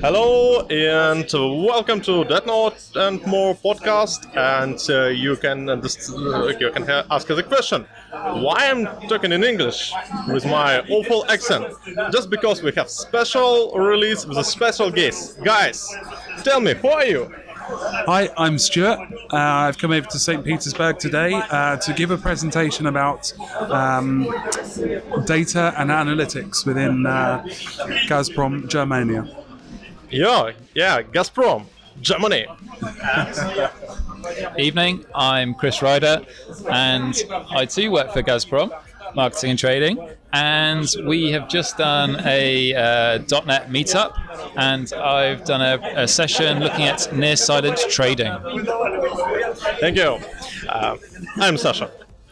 Hello and welcome to That Note and More podcast. And you can ask us a question. Why I'm talking in English with my awful accent? Just because we have special release with a special guest. Guys, tell me, who are you? Hi, I'm Stuart. I've come over to St. Petersburg today to give a presentation about data and analytics within Gazprom Germania. Yeah, Gazprom, Germany. Evening, I'm Chris Ryder, and I too work for Gazprom, marketing and trading, and we have just done a .NET meetup, and I've done a session looking at near-sided trading. Thank you. I'm Sasha.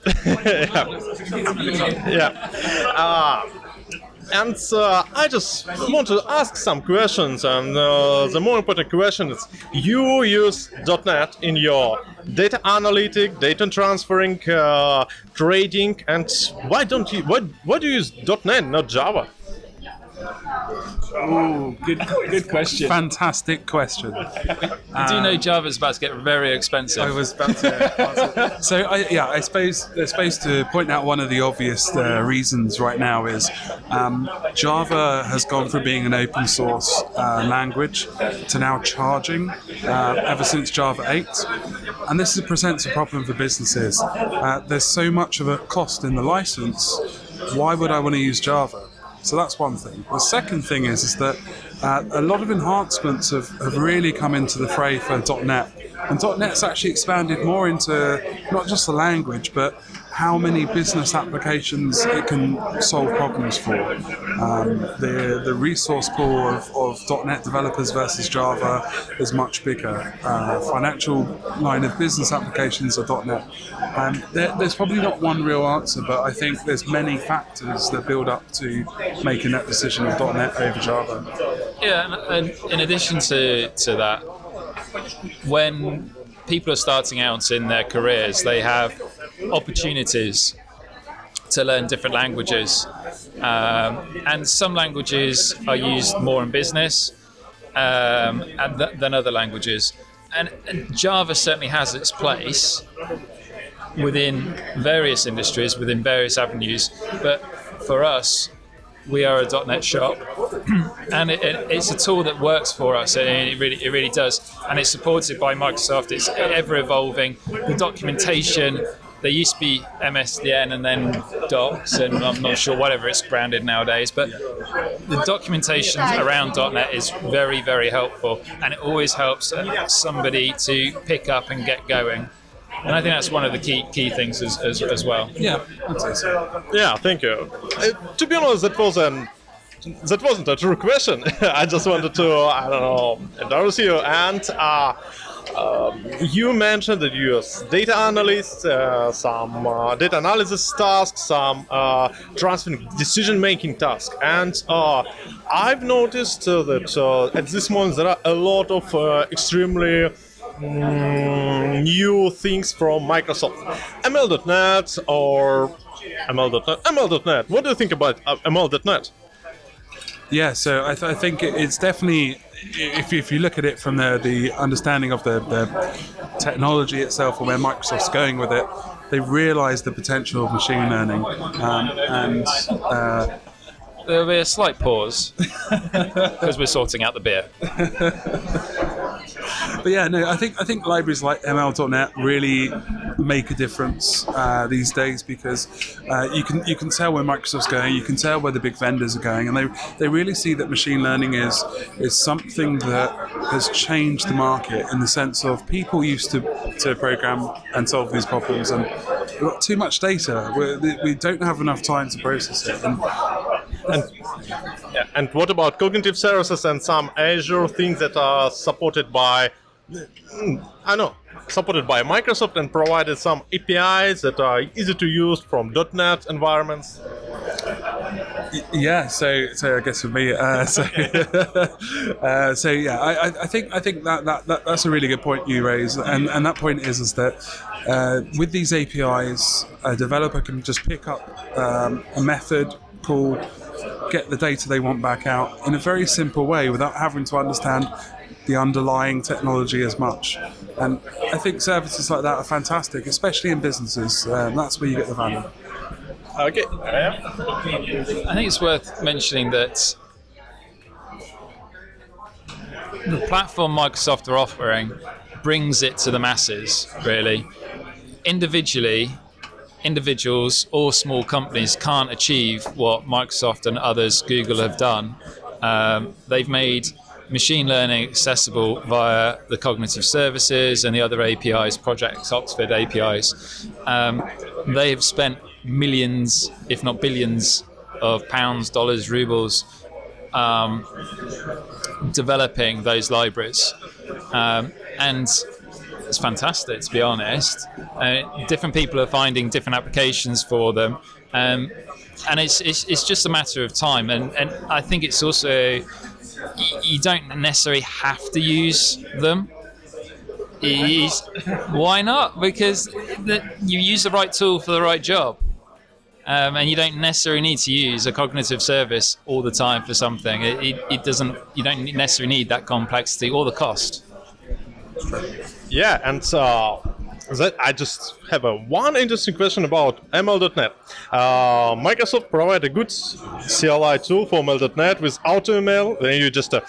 And I just want to ask some questions, and the more important question is, you use .NET in your data analytic, data transferring, trading, and why do you use .NET, not Java? Ooh, good question. Fantastic question. I do know Java's about to get very expensive. I was about to answer. So I suppose to point out one of the obvious reasons right now is Java has gone from being an open source language to now charging ever since Java 8, and this presents a problem for businesses. There's so much of a cost in the license. Why would I want to use Java? So that's one thing. The second thing is that a lot of enhancements have really come into the fray for .NET. And .NET's actually expanded more into not just the language, but how many business applications it can solve problems for. The resource pool of .NET developers versus Java is much bigger. Financial line of business applications are .NET. There's probably not one real answer, but I think there's many factors that build up to making that decision of .NET over Java. Yeah, and in addition to that, when people are starting out in their careers, they have opportunities to learn different languages, and some languages are used more in business than other languages, and Java certainly has its place within various industries, within various avenues, but for us, we are a .NET shop, and it's a tool that works for us. It really does, and it's supported by Microsoft. It's ever evolving. The documentation, there used to be MSDN and then Docs, and I'm not sure whatever it's branded nowadays, but the documentation around .NET is very, very helpful, and it always helps somebody to pick up and get going. And I think that's one of the key things as well. Yeah, I'd say so. Yeah, thank you. To be honest, that wasn't a true question. I just wanted to, endorse you. And you mentioned that you use data analysts, some data analysis tasks, some transferring decision-making tasks. And I've noticed that at this moment there are a lot of extremely new things from Microsoft. ML.NET or ML.NET. What do you think about ML.NET? Yeah, so I think it's definitely, if you look at it from the understanding of the technology itself and where Microsoft's going with it, they realise the potential of machine learning, and there'll be a slight pause because we're sorting out the beer. But yeah, no, I think libraries like ML.NET really make a difference these days, because you can tell where Microsoft's going, you can tell where the big vendors are going, and they really see that machine learning is something that has changed the market, in the sense of people used to program and solve these problems, and we've got too much data. We don't have enough time to process it. And what about cognitive services and some Azure things that are supported by Microsoft and provided some APIs that are easy to use from .NET environments? Yeah, so I guess for me, I think that's a really good point you raise, and that point is that with these APIs, a developer can just pick up a method call, get the data they want back out in a very simple way without having to understand the underlying technology as much. And I think services like that are fantastic, especially in businesses. That's where you get the value. Okay. I think it's worth mentioning that the platform Microsoft are offering brings it to the masses, really. Individuals or small companies can't achieve what Microsoft and others, Google, have done. They've made machine learning accessible via the cognitive services and the other APIs, Project Oxford APIs. They have spent millions, if not billions, of pounds, dollars, rubles developing those libraries. And it's fantastic, to be honest. Different people are finding different applications for them. And it's just a matter of time. And I think it's also, you don't necessarily have to use them. Why not? Because you use the right tool for the right job. And you don't necessarily need to use a cognitive service all the time for something. It doesn't. You don't necessarily need that complexity or the cost. Yeah, and that I just have one interesting question about ML.NET. Microsoft provide a good CLI tool for ML.NET with AutoML. Then you just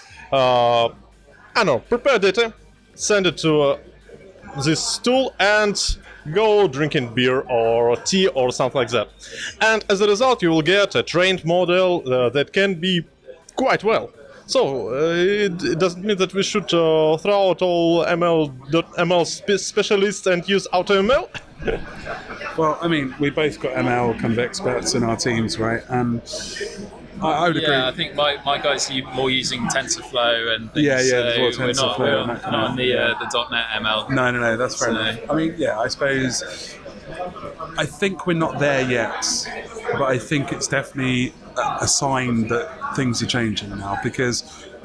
prepare data, send it to this tool, and go drinking beer or tea or something like that. And as a result, you will get a trained model that can be quite well. So it doesn't mean that we should throw out all ML specialists and use AutoML. Well, I mean, we both got ML kind of experts in our teams, right? And I would agree. Yeah, I think my guys are more using TensorFlow and things. There's So we're not on the .NET ML. No, that's fair enough. I mean, I suppose I think we're not there yet, but I think it's definitely a sign that things are changing now because,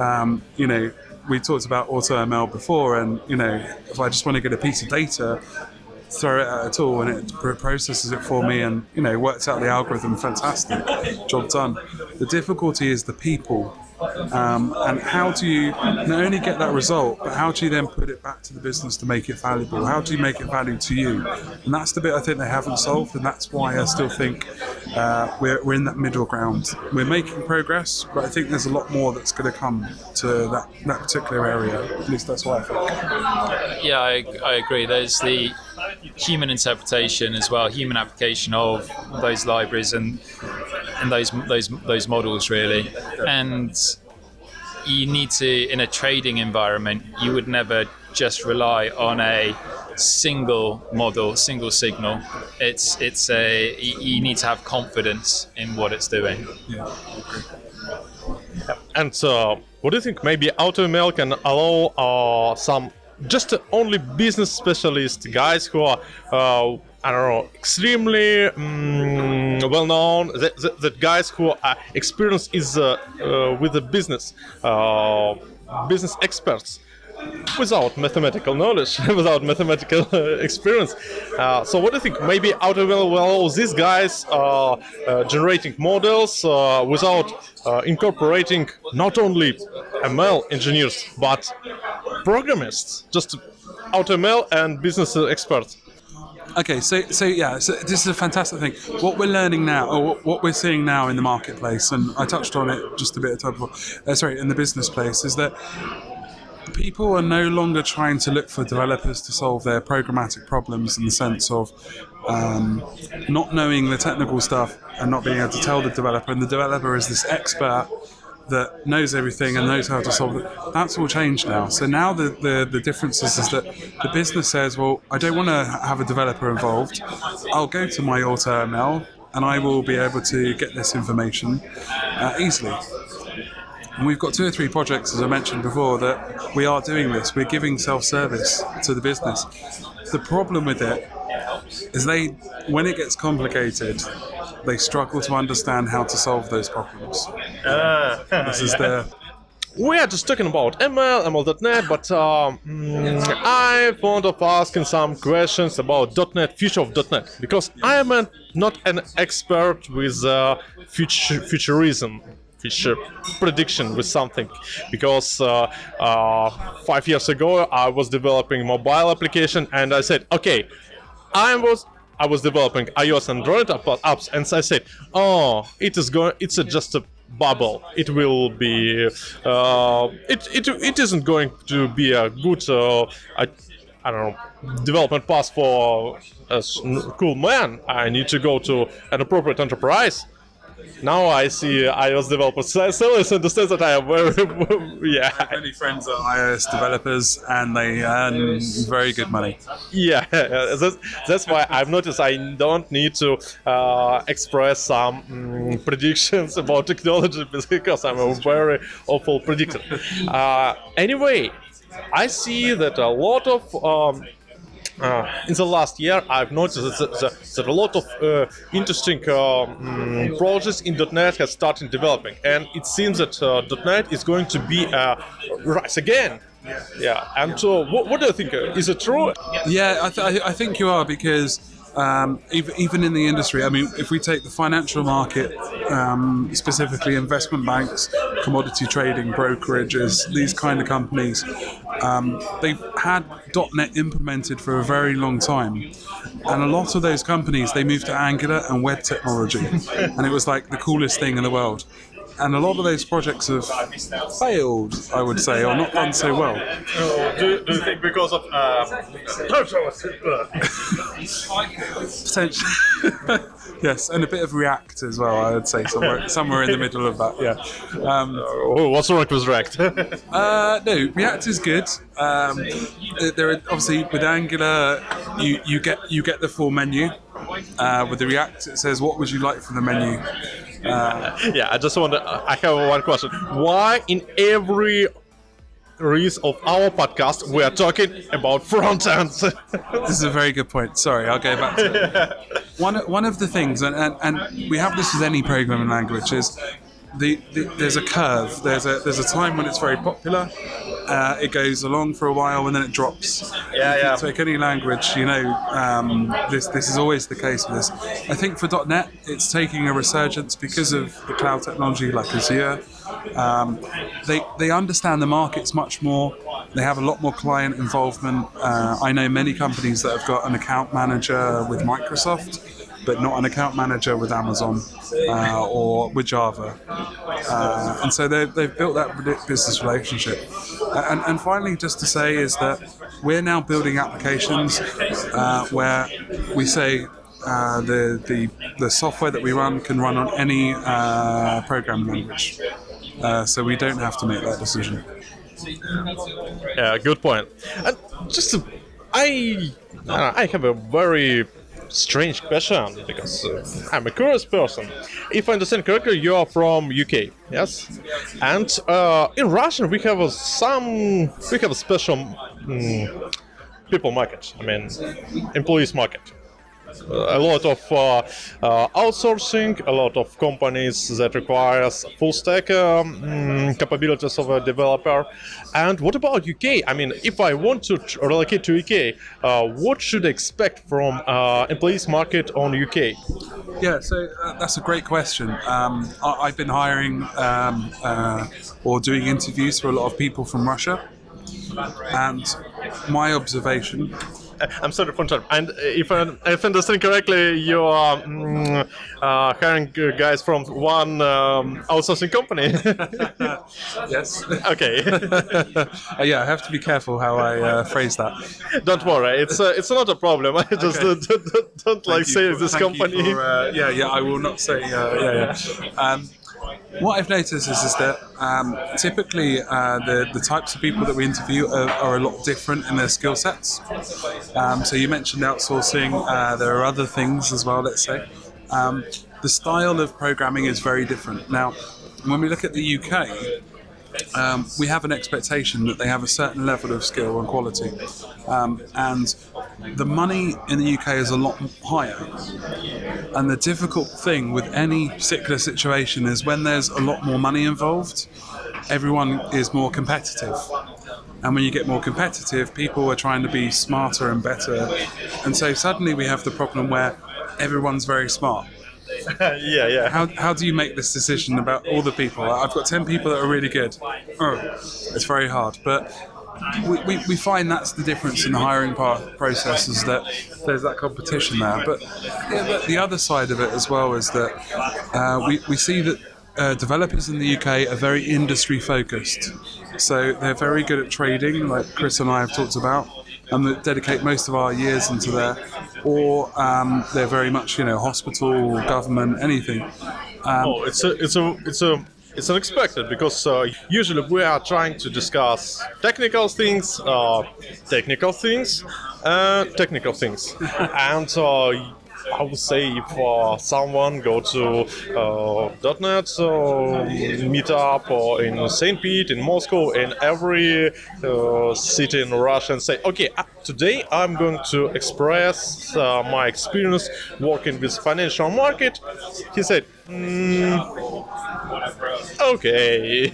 we talked about AutoML before, and, if I just want to get a piece of data, throw it at a tool and it processes it for me and, works out the algorithm, fantastic, job done. The difficulty is the people. And how do you not only get that result, but how do you then put it back to the business to make it valuable? How do you make it valuable to you? And that's the bit I think they haven't solved, and that's why I still think we're in that middle ground. We're making progress, but I think there's a lot more that's going to come to that particular area. At least that's what I think. Yeah, I agree. There's the human interpretation as well, human application of those libraries and those models, really. And you need to, in a trading environment, you would never just rely on a single model, single signal. You need to have confidence in what it's doing. Yeah. And what do you think? Maybe AutoML can allow some just only business specialist guys who are extremely well known, that guys who are experienced is with the business experts without mathematical knowledge, without mathematical experience. So what do you think? Maybe AutoML will allow these guys generating models without incorporating not only ML engineers but programists, just AutoML and business experts. Okay, so this is a fantastic thing. What we're learning now, or what we're seeing now in the marketplace, and I touched on it just a bit of time before, in the business place, is that people are no longer trying to look for developers to solve their programmatic problems in the sense of not knowing the technical stuff and not being able to tell the developer, and the developer is this expert that knows everything and knows how to solve it. That's all changed now. So now the difference is that the business says, well, I don't want to have a developer involved. I'll go to my AutoML and I will be able to get this information easily. And we've got 2 or 3 projects, as I mentioned before, that we are doing this. We're giving self-service to the business. The problem with it is when it gets complicated, they struggle to understand how to solve those problems. we are just talking about ML, ML.NET, but I thought of asking some questions about .NET, future of .NET, because I am not an expert with futurism, future prediction with something, because 5 years ago I was developing mobile application, and I said, okay, I was developing iOS and Android apps, and I said, oh, it's just a bubble. It will be it isn't going to be a good I don't know, development path for a cool man. I need to go to an appropriate enterprise. Now I see iOS developers still understand that I am very I have many friends are iOS developers, and they earn very good money. Yeah, that's why I've noticed I don't need to express some predictions about technology, because I'm a very awful predictor. Anyway, I see that a lot of in the last year, I've noticed that a lot of interesting projects in .NET has started developing, and it seems that .NET is going to be rise again. Yeah, and so what do you think? Is it true? Yeah, I think you are, because even in the industry, I mean, if we take the financial market, specifically investment banks, commodity trading, brokerages, these kind of companies, they've had .NET implemented for a very long time. And a lot of those companies, they moved to Angular and web technology. And it was like the coolest thing in the world. And a lot of those projects have failed, I would say, or not done so well. Do you think because of Potentially. Yes, and a bit of React as well, I would say, somewhere in the middle of that, yeah. what's wrong with React? No, React is good. There are, obviously, with Angular, you get the full menu. With the React, it says, what would you like from the menu? Yeah, I have one question. Why in every release of our podcast we are talking about front ends? This is a very good point. Sorry, I'll go back to it. One of the things, and we have this with any programming language, is there's a curve. There's a time when it's very popular. It goes along for a while and then it drops. Yeah. Take any language, this is always the case with this. I think for .NET, it's taking a resurgence because of the cloud technology like Azure. They understand the markets much more. They have a lot more client involvement. I know many companies that have got an account manager with Microsoft, but not an account manager with Amazon or with Java. And so they've built that business relationship. And finally, just to say is that we're now building applications where we say the software that we run can run on any programming language. So we don't have to make that decision. Yeah, good point. And I have a very strange question, because I'm a curious person. If I understand correctly, you are from UK, yes? And in Russian we have a special people market. I mean, employees market. A lot of outsourcing, a lot of companies that requires full stack capabilities of a developer. And what about UK? I mean, if I want to relocate to UK, what should I expect from employees market on UK? Yeah, so that's a great question. I've been hiring or doing interviews for a lot of people from Russia, and my observation. I'm sorry for interrupting. And if I understand correctly, you are hiring guys from one outsourcing company. Yes. Okay. Yeah, I have to be careful how I phrase that. Don't worry, it's not a problem. I just don't like saying this company. Yeah, I will not say. What I've noticed is that typically the types of people that we interview are a lot different in their skill sets. So you mentioned outsourcing. There are other things as well, let's say. The style of programming is very different. Now, when we look at the UK, we have an expectation that they have a certain level of skill and quality. And the money in the UK is a lot higher. And the difficult thing with any particular situation is when there's a lot more money involved, everyone is more competitive. And when you get more competitive, people are trying to be smarter and better. And so suddenly we have the problem where everyone's very smart. Yeah. How do you make this decision about all the people? I've got 10 people that are really good. It's very hard. But we find that's the difference in the hiring process, is that there's that competition there. But the other side of it as well is that we see that developers in the UK are very industry focused. So they're very good at trading, like Chris and I have talked about, and they dedicate most of our years into there. Or they're very much, hospital, government, anything. It's unexpected because usually we are trying to discuss technical things, and I would say if someone go to .NET meetup or in St. Pete, in Moscow, in every city in Russia, and say, okay, today I'm going to express my experience working with financial market. He said, okay,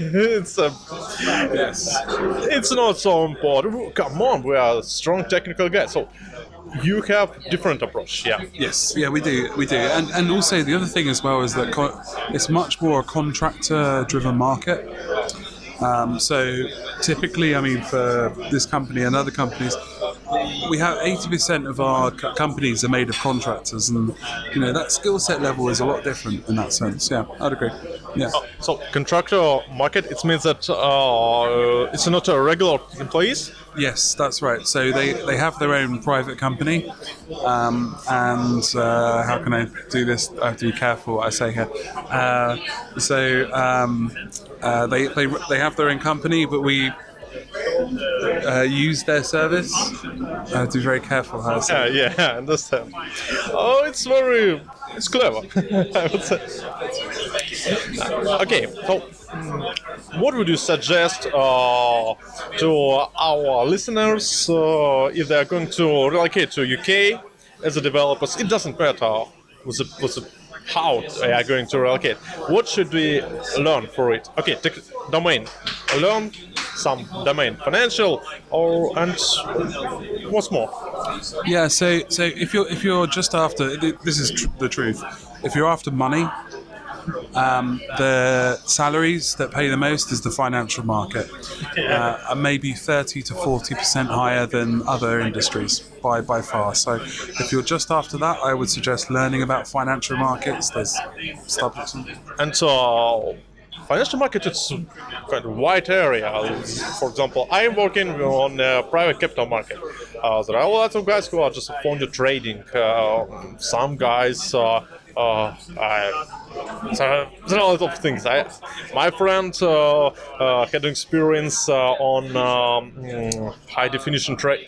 it's not so important. Come on, we are strong technical guys. So you have different approach, yeah. Yes, yeah, we do, and also the other thing as well is that it's much more a contractor-driven market. So typically, for this company and other companies, we have 80% of our companies are made of contractors, and that skill set level is a lot different in that sense. Yeah, I'd agree. Yeah. So contractor market, it means that it's not a regular employees. Yes, that's right. So they have their own private company, and how can I do this? I have to be careful what I say here. They have their own company, but we use their service. I have to be very careful how I say it. Yeah, I understand. Oh, it's clever, I would say. Okay, so what would you suggest to our listeners if they are going to relocate to UK as a developers? It doesn't matter how they are going to relocate. What should we learn for it? Okay, domain. Learn some domain, financial, and what's more? Yeah. So if you're just after, this is the truth. If you're after money, the salaries that pay the most is the financial market, maybe 30 to 40% higher than other industries by far. So if you're just after that, I would suggest learning about financial markets. There's stuff. And financial market is quite a wide area. For example, I am working on private capital market. There are a lot of guys who are just fond of trading. Some guys there are a lot of things. My friend had experience on high definition trading.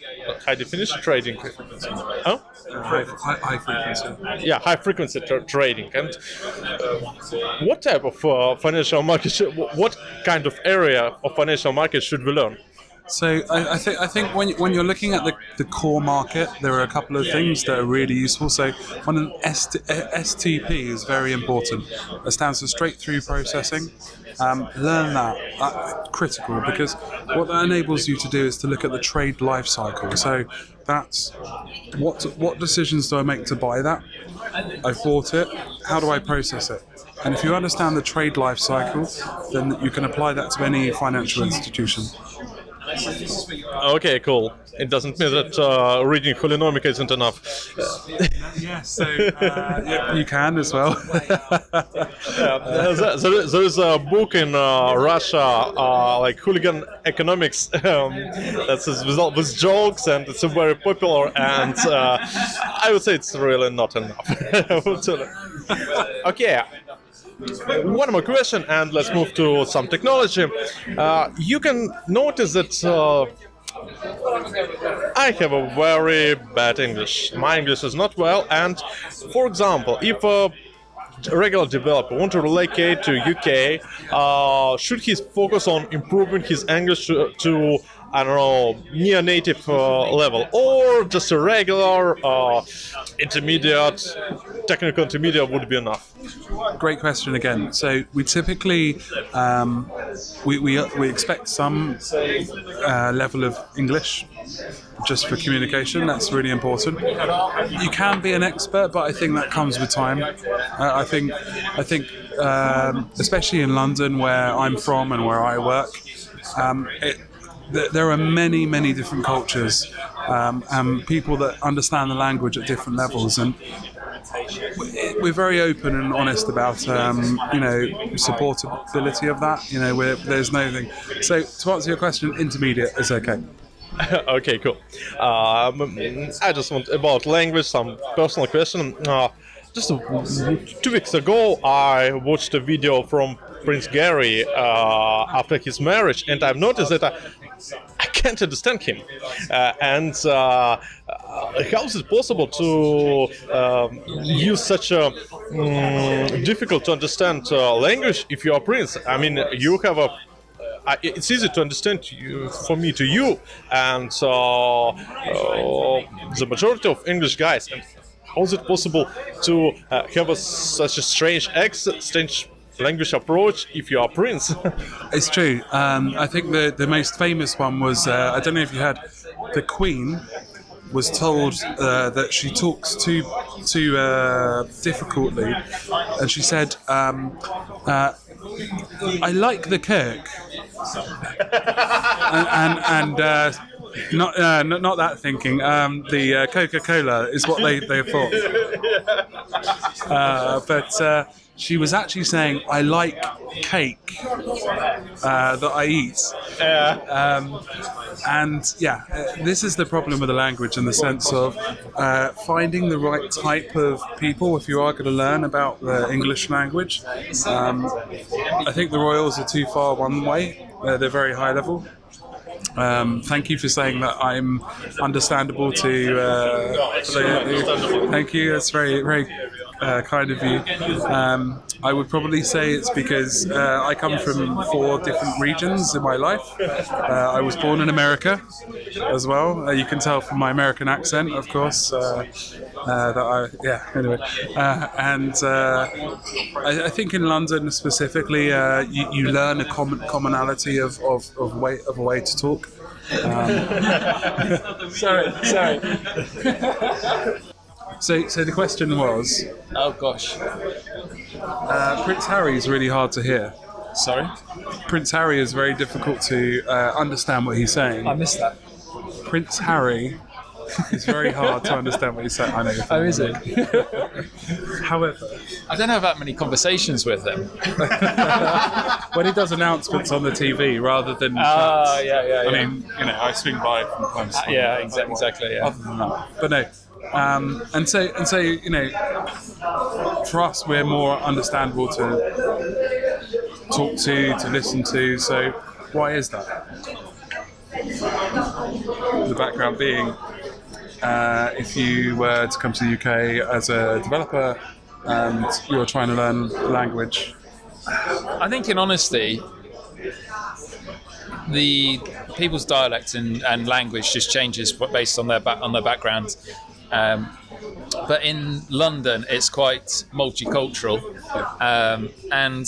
Huh? High frequency. Yeah, high frequency trading. And what type of financial market? What kind of area of financial market should we learn? So I think when you're looking at the core market, there are a couple of things that are really useful. So one STP is very important. It stands for straight through processing. Learn that. Critical, because what that enables you to do is to look at the trade life cycle. So that's what decisions do I make to buy that? I've bought it. How do I process it? And if you understand the trade life cycle, then you can apply that to any financial institution. Okay, cool. It doesn't mean that reading Holenomica isn't enough. Yes, so you can as well. There is a book in Russia, like Hooligan Economics, that's with jokes, and it's very popular. And I would say it's really not enough. Okay. One more question, and let's move to some technology. You can notice that I have a very bad English. My English is not well, and for example, if a regular developer want to relocate to UK, should he focus on improving his English to I don't know, near native level, or just a regular intermediate, technical intermediate would be enough? Great question again. So we typically we expect some level of English just for communication. That's really important. You can be an expert, but I think that comes with time. I think especially in London, where I'm from and where I work, there are many different cultures and people that understand the language at different levels, and we're very open and honest about supportability of that. There's no thing. So to answer your question, intermediate is okay. Okay, cool. I just want about language, some personal question. Just 2 weeks ago, I watched a video from Prince Gary after his marriage, and I've noticed that I can't understand him. And how is it possible to use such a difficult to understand language if you are Prince? I mean, you have a it's easy to understand for me to you, and the majority of English guys. And how is it possible to have such a strange accent, strange language approach if you are Prince? It's true. I think the most famous one was, I don't know if you had, the Queen was told that she talks too difficultly, and she said, I like the Kirk. and not that thinking. The Coca-Cola is what they thought. But she was actually saying, I like cake that I eat. This is the problem with the language, in the sense of finding the right type of people if you are going to learn about the English language. I think the Royals are too far one way. They're very high level. Thank you for saying that I'm understandable to. Thank you. That's very kind of you. I would probably say it's because I come from 4 different regions in my life. I was born in America as well. You can tell from my American accent, of course. Anyway. I think in London specifically, you learn a commonality of a way to talk. Sorry. So the question was... Oh, gosh. Prince Harry is really hard to hear. Sorry? Prince Harry is very difficult to understand what he's saying. I missed that. Prince Harry is very hard to understand what he's saying. I know. Oh, is it? However... I don't have that many conversations with him. When he does announcements on the TV rather than... yeah. I mean, I swing by from time to time. Yeah, exactly, yeah. Other than that. But no. And so, for us, we're more understandable to talk to listen to. So, why is that? The background being, if you were to come to the UK as a developer and you're trying to learn the language, I think, in honesty, the people's dialect and language just changes based on their background. But in London, it's quite multicultural, and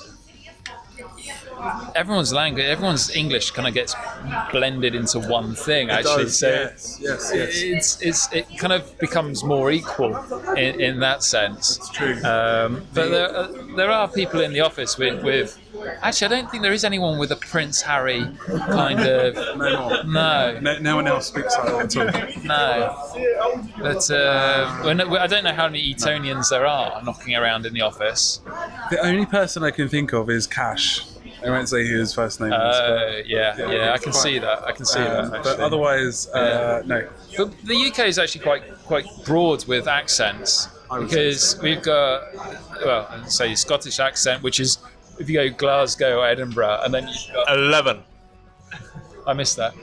everyone's English kind of gets blended into one thing. Actually, yes. It kind of becomes more equal in that sense. It's true. But there are people in the office with. Actually, I don't think there is anyone with a Prince Harry kind of. No one else speaks like that at all. No. But I don't know how many Etonians there are knocking around in the office. The only person I can think of is Cash. I won't say who his first name is. I can see that. But otherwise, no. But the UK is actually quite broad with accents, because we've got, say, Scottish accent, which is, if you go Glasgow or Edinburgh, and then you've got 11. I missed that.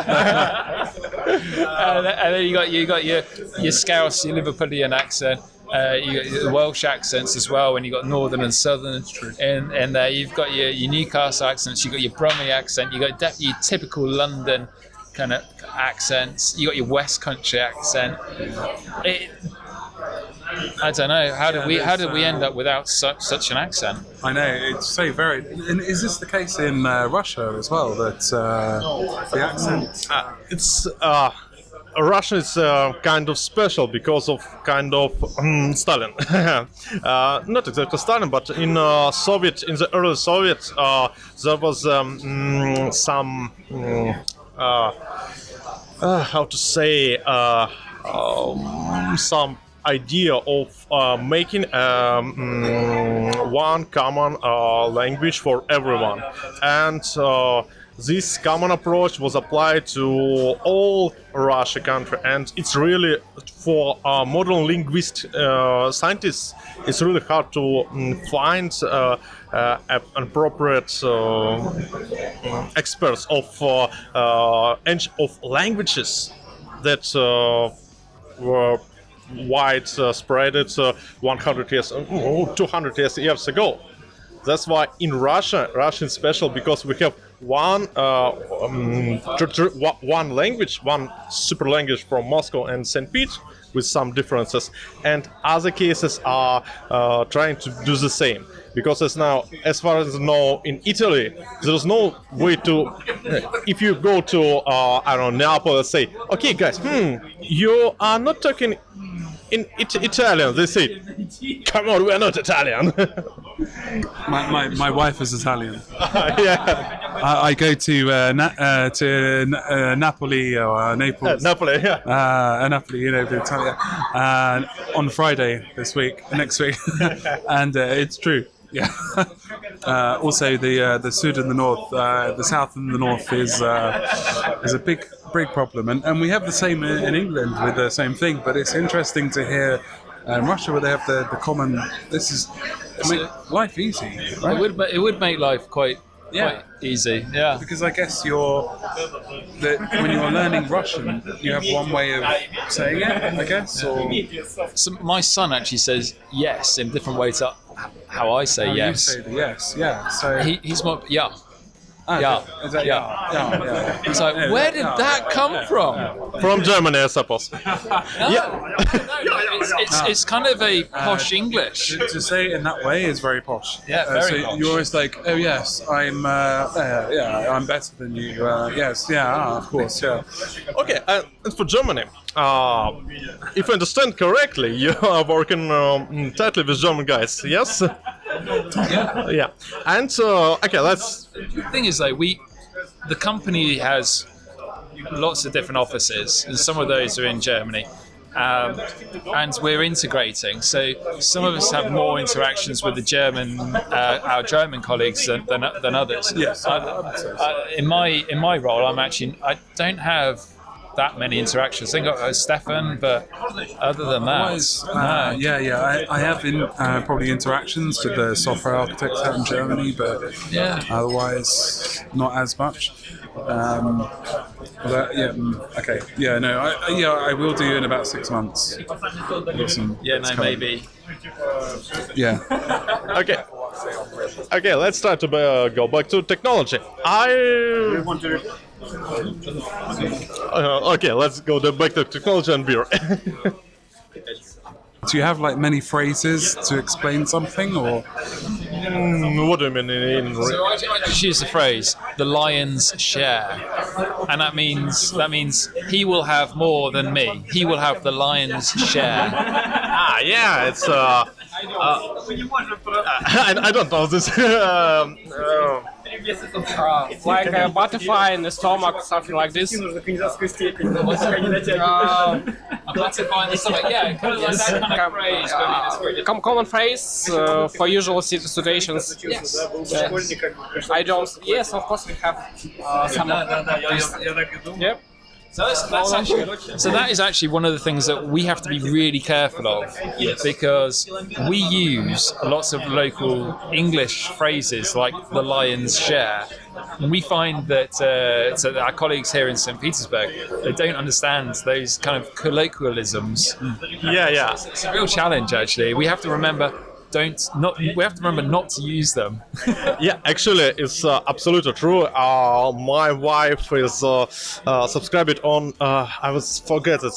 and then you got your Scouse, your Liverpudlian accent, You got the Welsh accents as well, and you got Northern and Southern in there. You've got your Newcastle accents. You got your Brummie accent. You got your typical London kind of accents. You got your West Country accent. I don't know. How did we end up without such an accent? I know, it's so varied. And is this the case in Russia as well? That the accent? Russia is kind of special because of Stalin. Not exactly Stalin, but in the early Soviet, there was some how to say some idea of making one common language for everyone, and this common approach was applied to all Russia country, and it's really for modern linguist scientists. It's really hard to find appropriate experts of languages that were widespread 100 years, 200 years ago. That's why in Russian is special because we have one language, one super language from Moscow and St. Pete with some differences, and other cases are trying to do the same. Because as far as I know, in Italy, there's no way to. If you go to Neapoli, and say, okay, guys, you are not talking in Italian. They say, come on, we are not Italian. My wife is Italian. Yeah. I go to Napoli or Naples. Napoli, yeah. Napoli, Italia, on Friday next week, and it's true. Yeah. Also, the Sud and the North, the South and the North is a big problem, and we have the same in England with the same thing. But it's interesting to hear in Russia where they have the common. This is make life easy. Right? It would make life quite easy. Yeah. Because I guess when you're learning Russian, you have one way of saying it. I guess. Or so my son actually says yes in different ways to how I say yes. You say the yes, yeah. So he's more yeah. Is that yeah. It's like, where did that come from? From Germany, I suppose. It's kind of a posh English. To say it in that way is very posh. Yeah, very posh. You're always like, oh yes, I'm better than you. Yes, of course, yeah. Okay, and for Germany, if I understand correctly, you are working tightly with German guys, yes? Yeah. And okay, let's. The thing is, though, the company has lots of different offices, and some of those are in Germany. And we're integrating. So some of us have more interactions with our German colleagues than others. Yes. In my role, I don't have that many interactions. I think I've got Stefan, but other than that, no. I have probably interactions with the software architects out in Germany, but otherwise not as much. I will do in about 6 months. Maybe. Yeah. Okay, let's try to go back to technology. Okay, let's go back to technology and beer. Do you have many phrases to explain something, or? What do you mean? So I just use the phrase "the lion's share," and that means he will have more than me. He will have the lion's share. It's. I don't know this. Like a butterfly in the stomach, something like this. A butterfly in the stomach, yeah, kind of like that kind of phrase. Common phrase for usual situations. Yes. I don't. Yes, of course we have some. Yep. So that is actually one of the things that we have to be really careful of, because we use lots of local English phrases like the lion's share. And we find that so our colleagues here in St. Petersburg, they don't understand those kind of colloquialisms. Yeah. It's a real challenge, actually. We have to remember not to use them. Yeah, actually, it's absolutely true. My wife is subscribed on. I was forget it's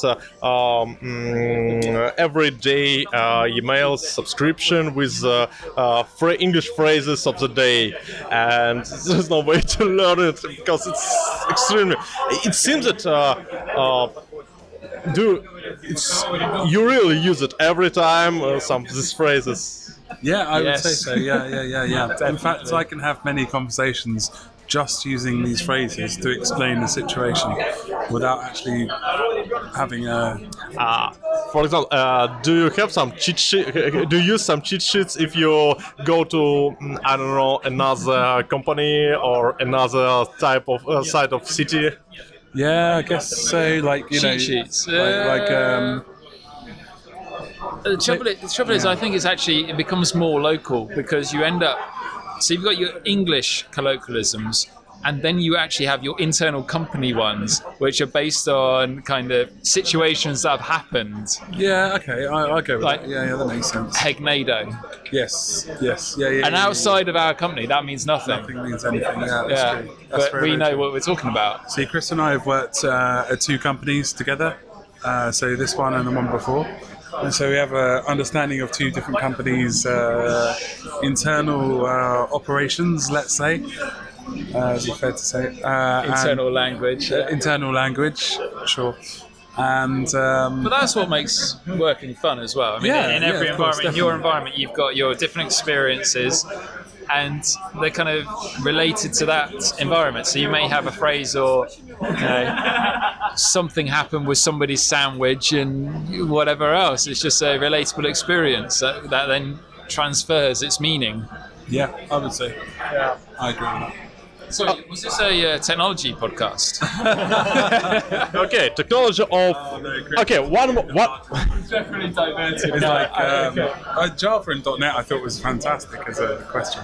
everyday email subscription with English phrases of the day, and there's no way to learn it because it's extremely. It seems that. You really use it every time some of these phrases. Yeah, I would say so. Yeah. In fact, I can have many conversations just using these phrases to explain the situation without actually having a. For example, do you have some cheat sheet? Do you use some cheat sheets if you go to I don't know another company or another type of side of city? Yeah, I guess so. Like Cheat sheets. The trouble is, I think it becomes more local because you end up. So you've got your English colloquialisms, and then you actually have your internal company ones, which are based on kind of situations that have happened. Yeah, okay, I'll go with Like- that. Yeah, that makes sense. Hegnado. Yes, yeah. And outside of our company, that means nothing. Nothing means anything. Yeah, that's Yeah, true. That's but very, we very know true. what we're talking about. See, Chris and I have worked at 2 companies together. So this one and the one before. And so we have an understanding of 2 different companies' internal operations, let's say. Is it fair to say? Internal language. Internal language, sure. And But that's what makes working fun as well. I mean, Yeah, in yeah, every of course, environment, in your environment, you've got your different experiences, and they're kind of related to that environment. So you may have a phrase or, something happened with somebody's sandwich and whatever else. It's just a relatable experience that then transfers its meaning. yeah, I would say. Yeah, I agree with that. Sorry, was this a technology podcast? Okay, technology of. Okay, one more. What? Definitely diverted. It's like Java and .NET. I thought was fantastic as a question.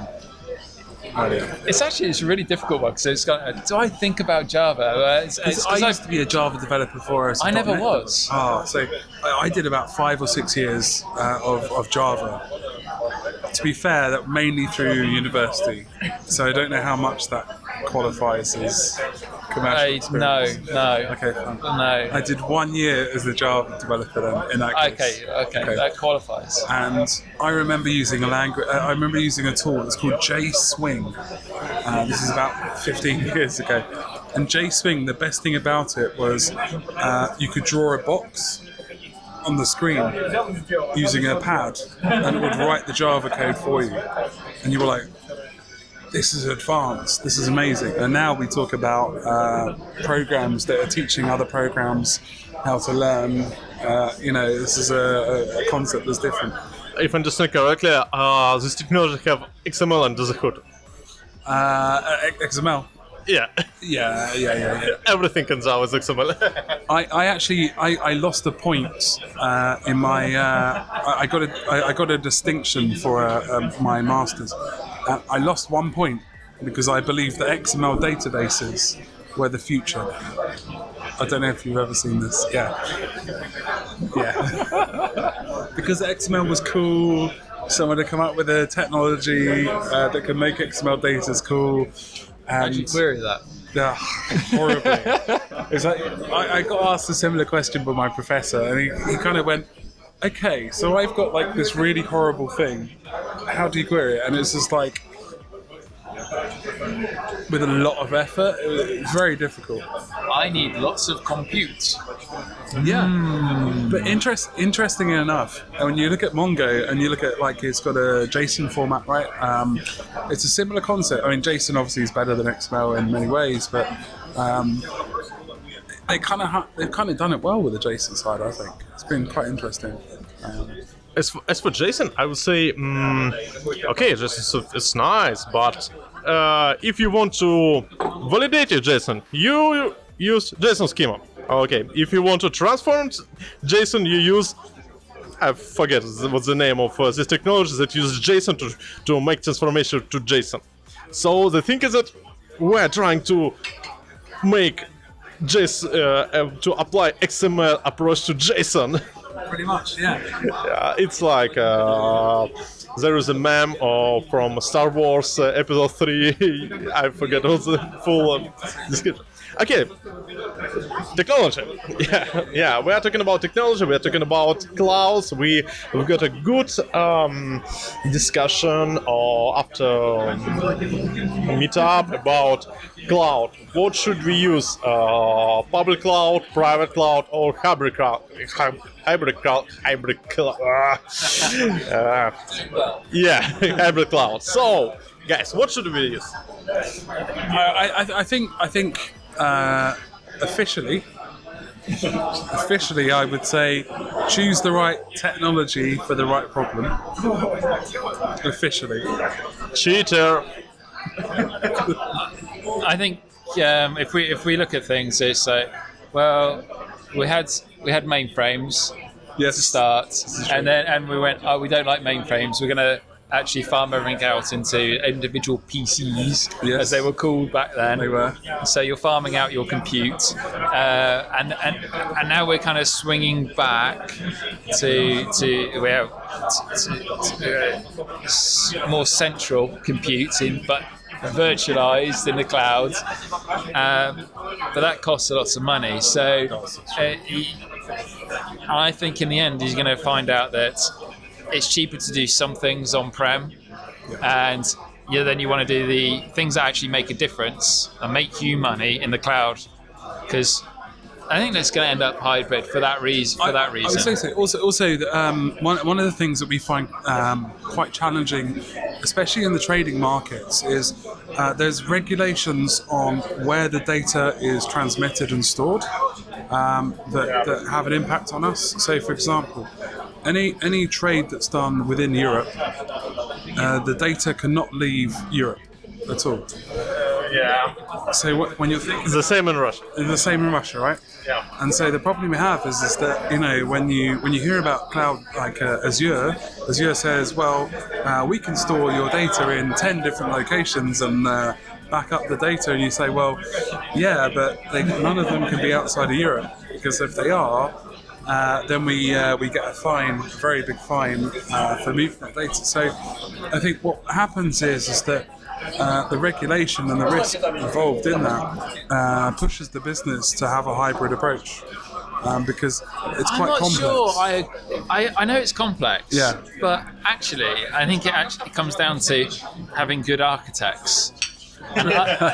It's a really difficult one because it's got. Do I think about Java? I used to be a Java developer before us. I never was. So I did about 5 or 6 years of Java. To be fair, that mainly through university. So I don't know how much that qualifies as commercial experience. No. Okay, fine. No. I did 1 year as a Java developer then, in that case. Okay, that qualifies. And I remember using a language. I remember using a tool that's called JSwing. This is about 15 years ago. And JSwing, the best thing about it was you could draw a box on the screen using a pad, and it would write the Java code for you. And you were like, "This is advanced. This is amazing." And now we talk about programs that are teaching other programs how to learn. This is a concept that's different. If I understand correctly, this technology have XML under the hood. XML. Yeah. Yeah. Everything comes out as XML. I lost a point in my. I got a distinction for my masters. I lost 1 point because I believe that XML databases were the future. I don't know if you've ever seen this. Yeah. Because XML was cool. Someone had come up with a technology that could make XML data cool. How'd you query that? Yeah, horribly. It's like I got asked a similar question by my professor, and he kind of went, "Okay, so I've got like this really horrible thing. How do you query it?" And it's just like, with a lot of effort, it's very difficult. I need lots of compute. Yeah, but interestingly enough, when you look at Mongo and you look at like it's got a JSON format, right? It's a similar concept. I mean, JSON obviously is better than XML in many ways, but they've kind of done it well with the JSON side. I think it's been quite interesting. As for JSON, I would say, okay, it's nice, but if you want to validate your JSON, you use JSON schema. Okay, if you want to transform JSON, you use, I forget what's the name of this technology that uses JSON to make transformation to JSON. So the thing is that we're trying to make to apply XML approach to JSON. Pretty much, yeah. It's like there is a meme from Star Wars Episode 3. I forget what's the full description. Okay, technology. Yeah, we are talking about technology. We are talking about clouds. We've got a good discussion after meetup about cloud. What should we use? Public cloud, private cloud, or hybrid cloud? Hybrid cloud. Yeah, hybrid cloud. So, guys, what should we use? I think officially, I would say choose the right technology for the right problem. Officially. Cheater. I think if we look at things, it's like, well, we had mainframes to start, and we went, oh, we don't like mainframes. We're gonna actually farm everything out into individual PCs, as they were called back then. They were. So you're farming out your compute, and now we're kind of swinging back to more central computing, but virtualized in the cloud. But that costs lots of money. So I think in the end, he's going to find out that it's cheaper to do some things on-prem, and then you want to do the things that actually make a difference and make you money in the cloud, because I think that's going to end up hybrid for that reason. I would say so. Also, one of the things that we find quite challenging, especially in the trading markets, is there's regulations on where the data is transmitted and stored that have an impact on us. So, for example, any trade that's done within Europe, the data cannot leave Europe at all. Yeah. So when you're thinking, It's the same in Russia. the same in Russia, right? Yeah. And so the problem we have is that when you hear about cloud like Azure says, well, we can store your data in 10 different locations and back up the data, and you say, well, yeah, but none of them can be outside of Europe, because if they are, then we get a fine, a very big fine for moving that data. So I think what happens is that the regulation and the risk involved in that pushes the business to have a hybrid approach, because it's quite complex. I'm not sure. I know it's complex. Yeah. But actually, I think it actually comes down to having good architects. And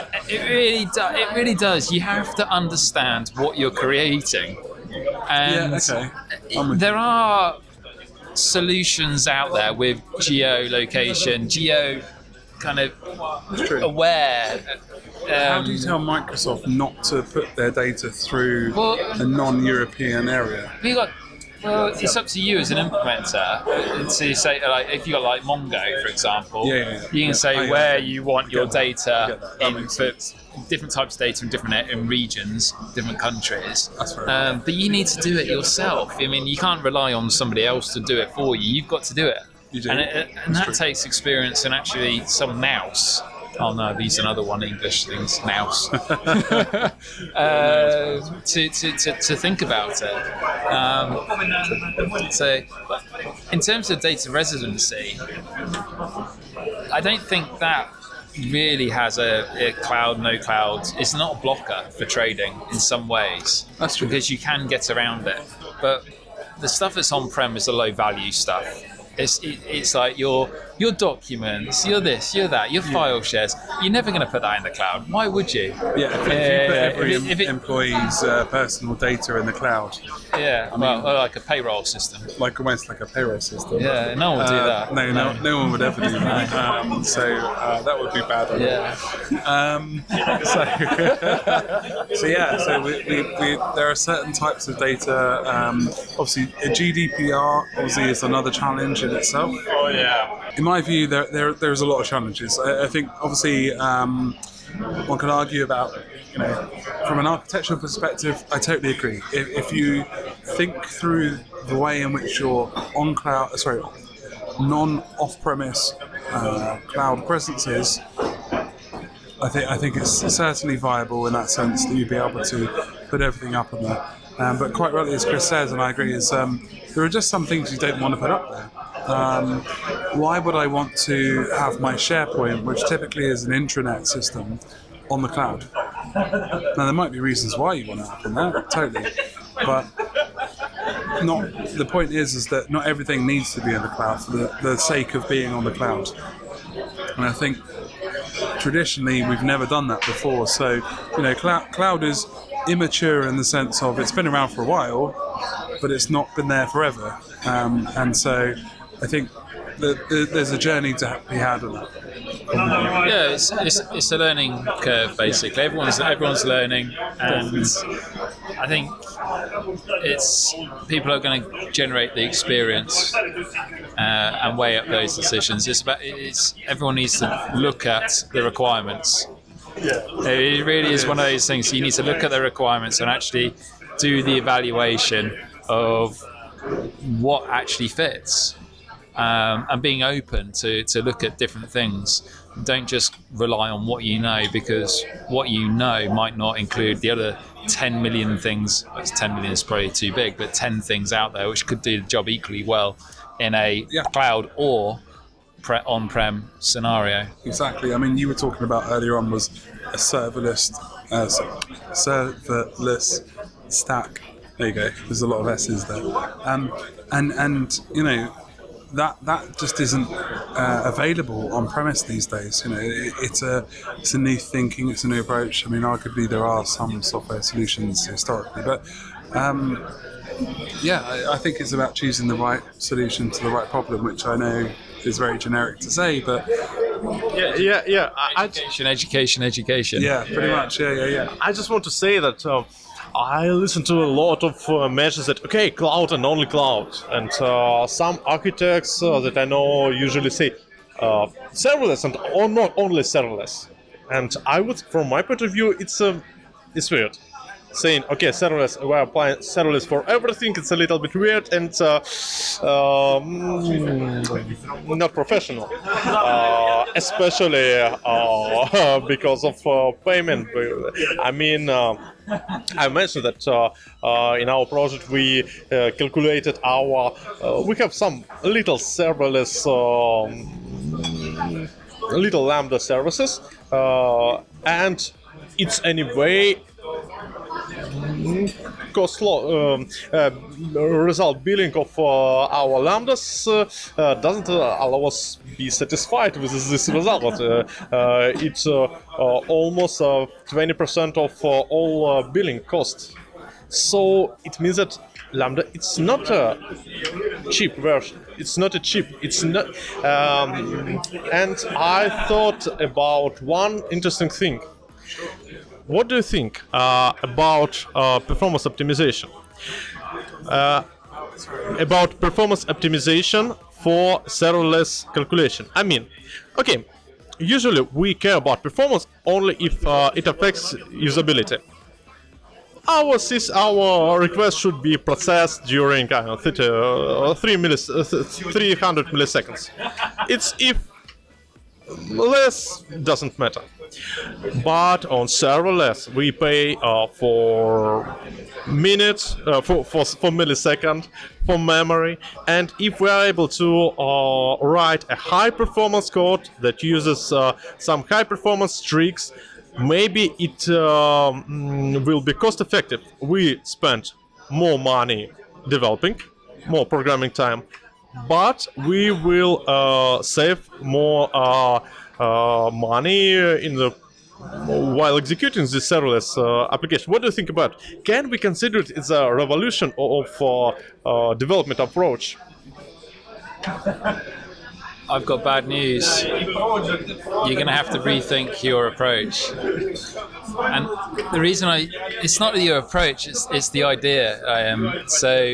it really does. You have to understand what you're creating. And there are solutions out there with geolocation, kind of aware. How do you tell Microsoft not to put their data through a non-European area? Well, it's up to you as an implementer to say, like, if you got like Mongo, for example, you can say where you want your data in for different types of data in regions, different countries. That's right. But you need to do it yourself. I mean, you can't rely on somebody else to do it for you. You've got to do it. You do. And that takes experience and actually some nous. Oh no, these are another one English things, nous. To think about it. So, in terms of data residency, I don't think that really has a cloud, no cloud. It's not a blocker for trading in some ways. That's true. Because you can get around it. But the stuff that's on-prem is the low-value stuff. It's like your documents, your this, your that, your file shares. You're never going to put that in the cloud. Why would you? Yeah, if you put every employee's personal data in the cloud. Yeah, like a payroll system. Almost like a payroll system. Yeah, no one would do that. No one would ever do that. So that would be bad. So there are certain types of data. Obviously, GDPR is another challenge in itself. Oh yeah. In my view, there's a lot of challenges. I think obviously one can argue about from an architectural perspective, I totally agree. If you think through the way in which your non-off-premise cloud presence is, I think it's certainly viable in that sense that you'd be able to put everything up on there. But quite rightly, as Chris says, and I agree, is there are just some things you don't want to put up there. Why would I want to have my SharePoint, which typically is an intranet system, on the cloud? Now, there might be reasons why you want it up in there, totally. But the point is that not everything needs to be in the cloud for the sake of being on the cloud. And I think traditionally we've never done that before. So, cloud is immature in the sense of it's been around for a while, but it's not been there forever. And so I think that there's a journey to be had on that. Yeah, it's a learning curve basically. Everyone's learning, and I think people are going to generate the experience and weigh up those decisions. Everyone needs to look at the requirements. Yeah. It really is one of those things. You need to look at the requirements and actually do the evaluation of what actually fits. And being open to look at different things. Don't just rely on what you know, because what you know might not include the other 10 million things. 10 million is probably too big, but 10 things out there which could do the job equally well in a cloud or on-prem scenario. Exactly. I mean, you were talking about earlier on was a serverless stack. There you go. There's a lot of S's there. And that just isn't available on premise these days. It's a new thinking, it's a new approach. I mean, arguably there are some software solutions historically, but I think it's about choosing the right solution to the right problem, which I know is very generic to say, but education. Yeah, pretty much. Yeah. I just want to say that I listen to a lot of measures that, cloud and only cloud. And some architects that I know usually say serverless and not only serverless. And I would, from my point of view, it's weird. Saying, serverless, we're applying serverless for everything, it's a little bit weird and not professional. Especially because of payment. I mean, I mentioned that in our project we calculated we have some little serverless, little Lambda services, and it's anyway result billing of our lambdas doesn't allow us be satisfied with this result, but it's almost 20% of all billing costs. So it means that Lambda, it's not a cheap version. It's not a cheap. It's not. And I thought about one interesting thing. What do you think about performance optimization? About performance optimization for serverless calculation. I mean, usually we care about performance only if it affects usability. Our request should be processed during 300 milliseconds. It's if less doesn't matter. But on serverless, we pay for minutes, for millisecond, for memory, and if we are able to write a high-performance code that uses some high-performance tricks, maybe it will be cost-effective. We spend more money developing, more programming time, but we will save more money while executing this serverless application. What do you think about it? Can we consider it as a revolution of development approach? I've got bad news. You're going to have to rethink your approach. And the reason it's not your approach, it's the idea. So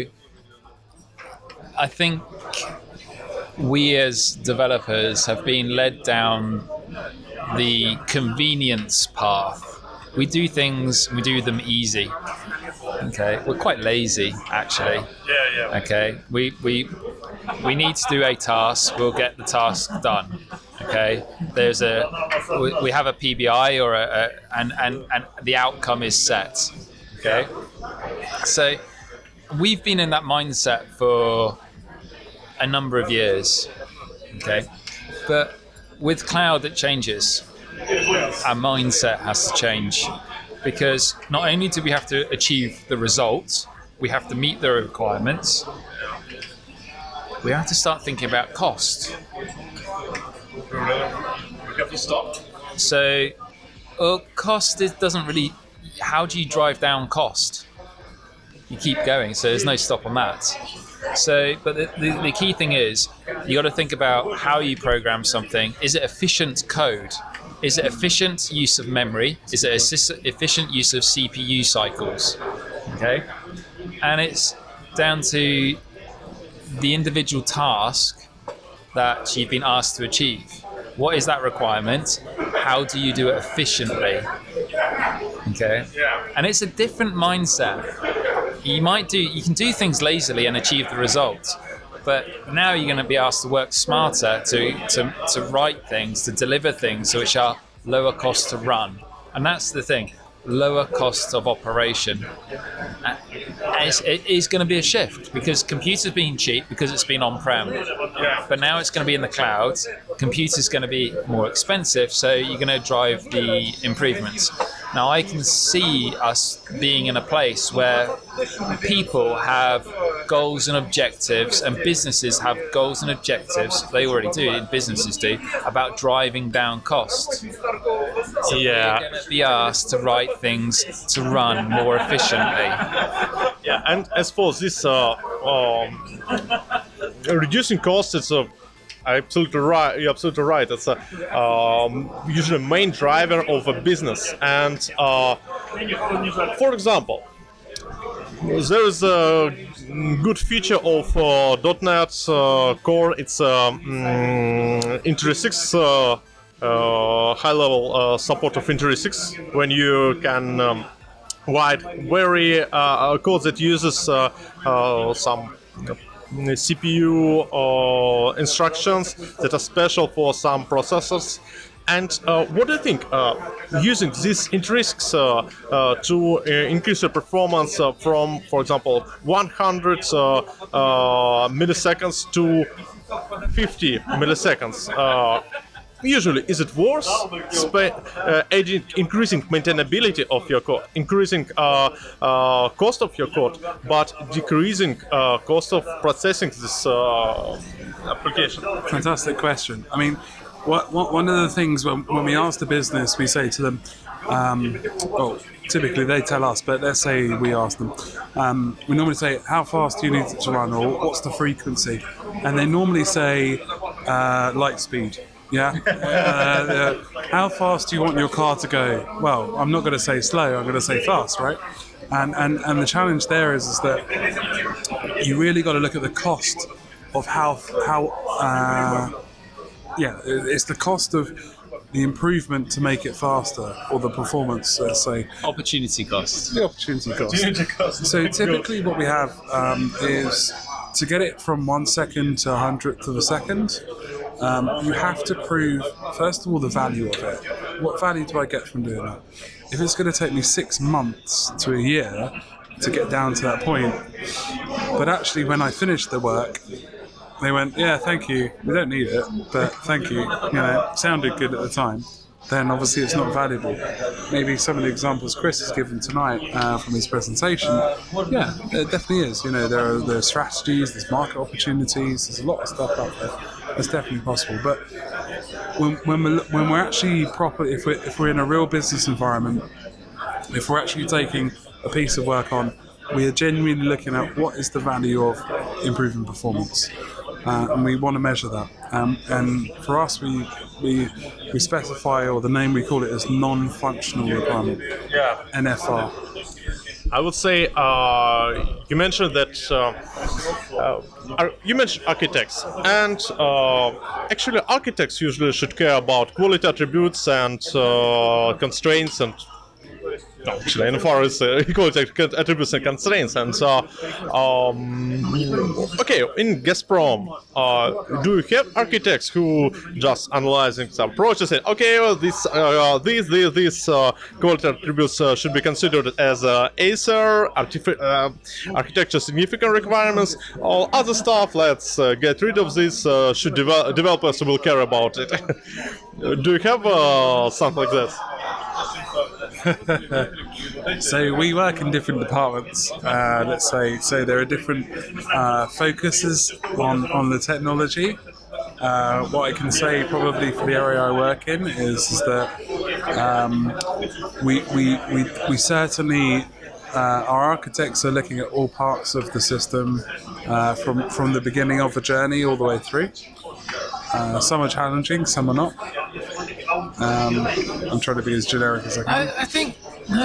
I think we as developers have been led down the convenience path we do things, we do them easy. Okay, we're quite lazy actually. Yeah. Okay, we need to do a task. We'll get the task done. Okay, we have a PBI or and the outcome is set. Okay, so we've been in that mindset for a number of years. Okay, but with cloud it changes. Our mindset has to change, because not only do we have to achieve the results, we have to meet the requirements, we have to start thinking about cost. We have to stop. So, cost doesn't really. How do you drive down cost? You keep going, so there's no stop on that. So, but the key thing is, you got to think about how you program something. Is it efficient code? Is it efficient use of memory? Is it efficient use of CPU cycles? Okay, and it's down to the individual task that you've been asked to achieve. What is that requirement? How do you do it efficiently? Okay, and it's a different mindset. You can do things lazily and achieve the result, but now you're going to be asked to work smarter to write things, to deliver things which are lower cost to run. And that's the thing, lower cost of operation. It is going to be a shift, because computers being cheap because it's been on-prem, but now it's going to be in the cloud. Computers going to be more expensive, so you're going to drive the improvements. Now I can see us being in a place where people have goals and objectives, and businesses have goals and objectives, they already do, and businesses do, about driving down cost. So Yeah. we're going to be asked to write things to run more efficiently. Yeah, and as for this reducing costs, it's absolutely right. You're absolutely right. It's usually a main driver of a business. And for example, there is a good feature of .NET Core. It's Intelli-6 high-level support of Intelli-6, when you can write very code that uses some CPU instructions that are special for some processors. And what do you think? Using these Intelli-6 to increase your performance from, for example, 100 milliseconds to 50 milliseconds. Usually, is it worth increasing maintainability of your code, increasing cost of your code, but decreasing cost of processing this application? Fantastic question. I mean, one of the things when we ask the business, we say to them, well, typically they tell us, but let's say we ask them, we normally say, how fast do you need it to run, or what's the frequency? And they normally say, light speed. Yeah. How fast do you want your car to go? Well, I'm not going to say slow. I'm going to say fast, right? And the challenge there is that you really got to look at the cost of it's the cost of the improvement to make it faster, or the performance, let's say. Opportunity cost. The opportunity cost. So typically what we have is to get it from 1 second to 100th of a second. You have to prove, first of all, the value of it. What value do I get from doing that? If it's going to take me 6 months to a year to get down to that point, but actually when I finished the work, they went, yeah, thank you, we don't need it, but thank you, it sounded good at the time, then obviously it's not valuable. Maybe some of the examples Chris has given tonight from his presentation, yeah, it definitely is. There are strategies, there's market opportunities, there's a lot of stuff out there. It's definitely possible. But when we're actually proper, if we're in a real business environment, if we're actually taking a piece of work on, we are genuinely looking at what is the value of improving performance. And we want to measure that. And for us, we specify, or the name we call it, as non-functional requirement. Yeah. NFR. I would say you mentioned that you mentioned architects, and actually architects usually should care about quality attributes and constraints and actually enforce equality attributes and constraints. And so, okay, in Gazprom, do you have architects who just analyzing some processes? Okay, well, these quality attributes should be considered as Acer architecture significant requirements. All other stuff, let's get rid of this. Should developers will care about it? Do you have something like that? So we work in different departments, let's say. So there are different focuses on the technology. What I can say probably for the area I work in is that we certainly our architects are looking at all parts of the system from the beginning of the journey all the way through. Some are challenging, some are not. I'm trying to be as generic as I can. I think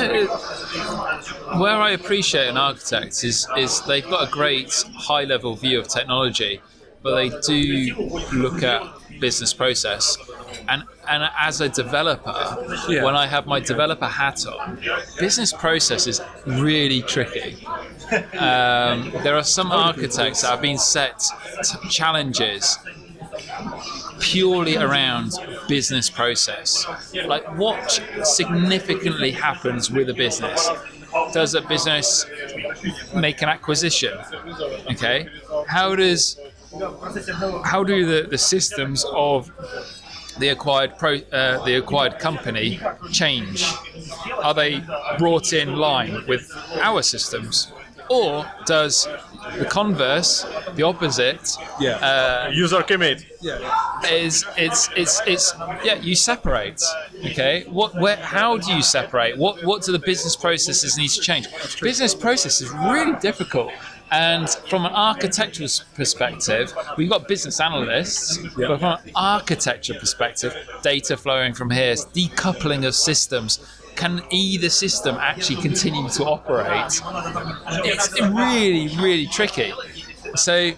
where I appreciate an architect is they've got a great high-level view of technology, but they do look at business process. And as a developer, when I have my developer hat on, business process is really tricky. There are some architects that have been set challenges purely around business process. Like, what significantly happens with a business? Does a business make an acquisition? Okay, how do the systems of the acquired company change? Are they brought in line with our systems, or does the converse, the opposite, user commit? You separate. Okay, how do you separate? What do the business processes need to change? Business process is really difficult. And from an architectural perspective, we've got business analysts, but from an architecture perspective, data flowing from here, decoupling of systems. Can either system actually continue to operate? It's really, really tricky. So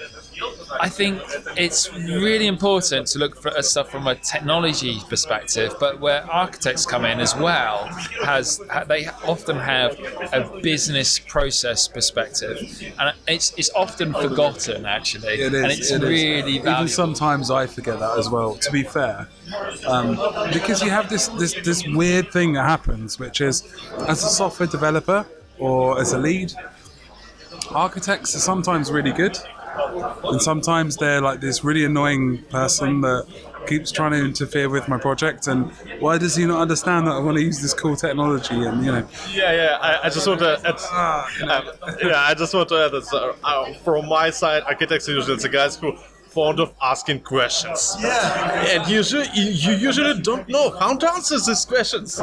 I think it's really important to look at stuff from a technology perspective, but where architects come in as well, they often have a business process perspective, and it's often forgotten actually. It is, and it's really valuable. Even sometimes I forget that as well, to be fair, because you have this weird thing that happens, which is, as a software developer or as a lead, architects are sometimes really good. And sometimes they're like this really annoying person that keeps trying to interfere with my project, and why does he not understand that I want to use this cool technology? And I just want to add, I just want to add that from my side, architects are usually the guys who fond of asking questions. And you usually don't know how to answer these questions.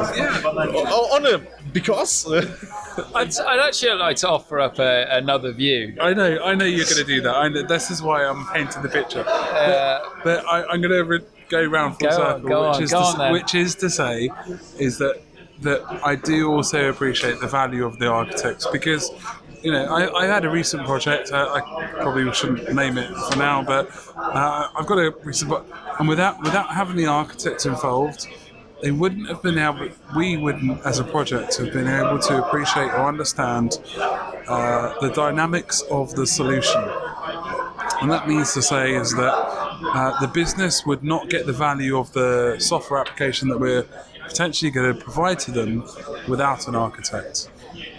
Because I'd actually like to offer up another view. I know you're going to do that. This is why I'm painting the picture. But I'm going to go round full circle, which is to say that I do also appreciate the value of the architects, because I had a recent project. I probably shouldn't name it for now, but I've got a recent. And without having the architects involved, we wouldn't, as a project, have been able to appreciate or understand the dynamics of the solution. And that means to say is that the business would not get the value of the software application that we're potentially going to provide to them without an architect.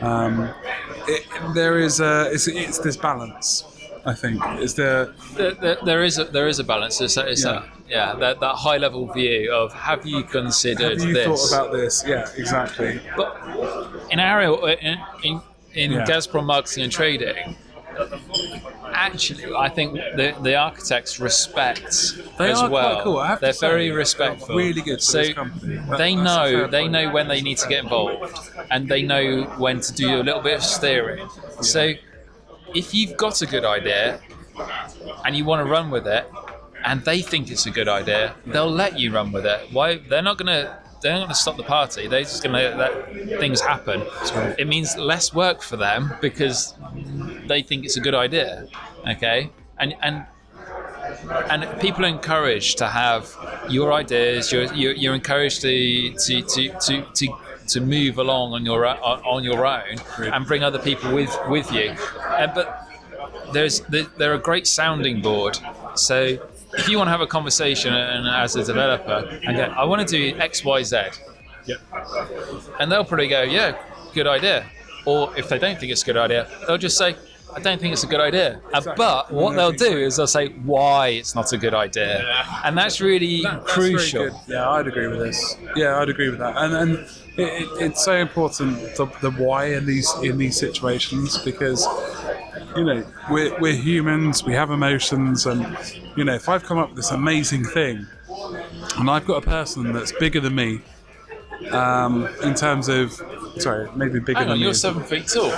It's this balance, I think. There is a balance. That high level view of, have you considered this? Have you thought about this? Yeah, exactly. But in Gazprom Marketing and Trading, actually, I think the architects respect as well. Quite cool. They're very respectful. Really good for this company. They know when they need to get involved, and they know when to do a little bit of steering. Yeah. So if you've got a good idea and you want to run with it, and they think it's a good idea, they'll let you run with it. Why? They're not going to stop the party. They're just going to let things happen. Right. It means less work for them because they think it's a good idea. Okay, and people are encouraged to have your ideas. You're encouraged to to move along on your own and bring other people with you. But they're a great sounding board. So if you want to have a conversation as a developer and go, I want to do X, Y, Z, and they'll probably go, yeah, good idea. Or if they don't think it's a good idea, they'll just say, I don't think it's a good idea. But what they'll do is they'll say why it's not a good idea. And that's really crucial. Very good. Yeah, I'd agree with this. Yeah, I'd agree with that. And it's so important, the why in these situations, because, you know, we're humans, we have emotions, and, you know, if I've come up with this amazing thing and I've got a person that's bigger than me, in terms of, sorry, maybe bigger Hang on, than you're me. 7 feet tall.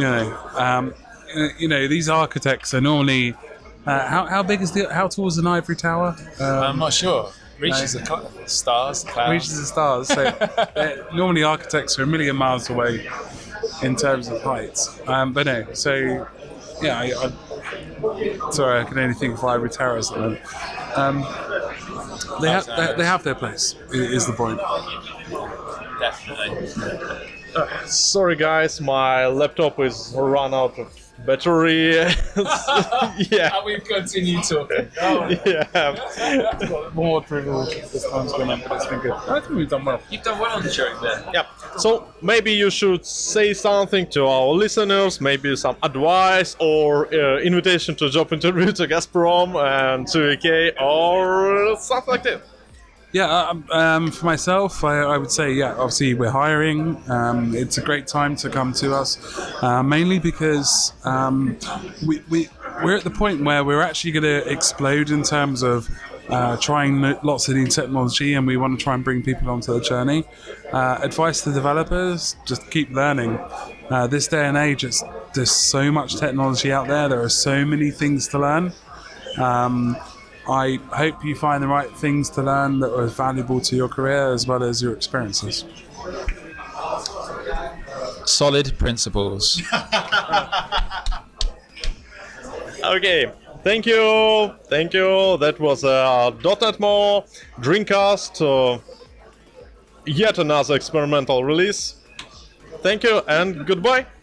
You know, these architects are normally, how tall is an ivory tower? I'm not sure. Reaches the stars, the clouds. Reaches the stars. So normally architects are a million miles away in terms of heights. But no, so yeah, sorry, I can only think of ivory towers at the moment. They have their place, is the point. Definitely. Sorry guys, my laptop is run out of battery. Yeah. And we've continued talking. Yeah. More trivial this time's gone on, but it's been good. I think we've done well. You've done well on the joke there. Yeah. So maybe you should say something to our listeners, maybe some advice or invitation to a job interview to Gazprom and to EK or stuff like that. Yeah, for myself, I would say, yeah, obviously we're hiring. It's a great time to come to us, mainly because we're at the point where we're actually going to explode in terms of trying lots of new technology, and we want to try and bring people onto the journey. Advice to developers, just keep learning. This day and age, there's so much technology out there. There are so many things to learn. I hope you find the right things to learn that are valuable to your career as well as your experiences. Solid principles. Okay, thank you. That was a .NET More Dreamcast, yet another experimental release. Thank you and goodbye.